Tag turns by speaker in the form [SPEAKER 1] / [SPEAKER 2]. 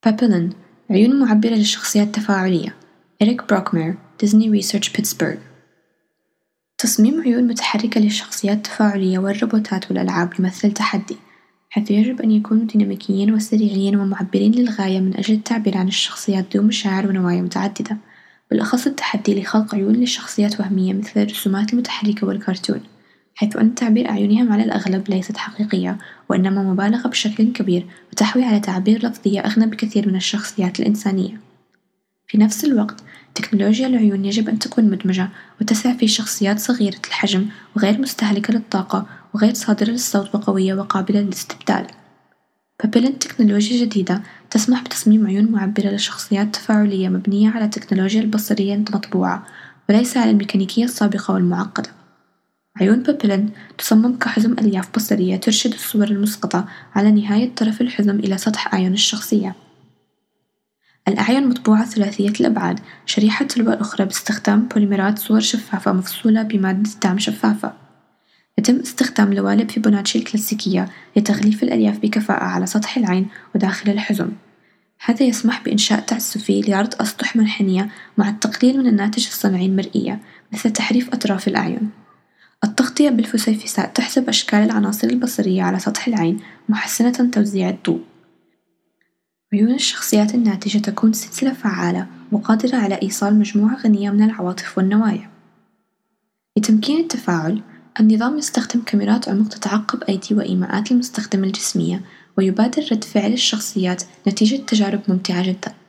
[SPEAKER 1] بابيلين عيون معبرة للشخصيات التفاعلية. إريك بروكمير، ديزني ريسيرش بيتسبرغ. تصميم عيون متحركة للشخصيات التفاعلية والروبوتات والألعاب يمثل تحدي، حيث يجب أن يكونوا ديناميكيين وسريعين ومعبرين للغاية من أجل التعبير عن الشخصيات ذو مشاعر ونوايا متعددة، بالأخص التحدي لخلق عيون لشخصيات وهمية مثل الرسومات المتحركة والكرتون، حيث أن تعبير أعينهم على الأغلب ليست حقيقية وإنما مبالغة بشكل كبير وتحوي على تعابير لفظية أغنى بكثير من الشخصيات الإنسانية. في نفس الوقت، تكنولوجيا العيون يجب أن تكون مدمجة وتسع في شخصيات صغيرة الحجم وغير مستهلكة للطاقة وغير صادرة للصوت وقوية وقابلة للاستبدال. بابيلين تكنولوجيا جديدة تسمح بتصميم عيون معبرة لشخصيات تفاعلية مبنية على تكنولوجيا البصرية المطبوعة وليس على الميكانيكية السابقة والمعقدة. عيون بابيلين تصمم كحزم ألياف بصرية ترشد الصور المسقطة على نهاية طرف الحزم إلى سطح أعين الشخصية. الأعين مطبوعة ثلاثية الأبعاد، شريحة تلو الأخرى باستخدام بوليمرات صور شفافة مفصولة بمادة دعم شفافة. يتم استخدام لوالب فيبوناتشي الكلاسيكية لتغليف الألياف بكفاءة على سطح العين وداخل الحزم. هذا يسمح بإنشاء تعسفي لعرض أسطح منحنية مع التقليل من الناتج الصنعي المرئية مثل تحريف أطراف الأعين. التغطية بالفسيفساء تحسب أشكال العناصر البصرية على سطح العين محسنة توزيع الضوء. عيون الشخصيات الناتجة تكون سلسلة فعالة وقادرة على إيصال مجموعة غنية من العواطف والنوايا. لتمكين التفاعل، النظام يستخدم كاميرات عمق تتعقب أيدي وإيماءات المستخدم الجسمية ويبادر رد فعل الشخصيات نتيجة تجارب ممتعة جدا.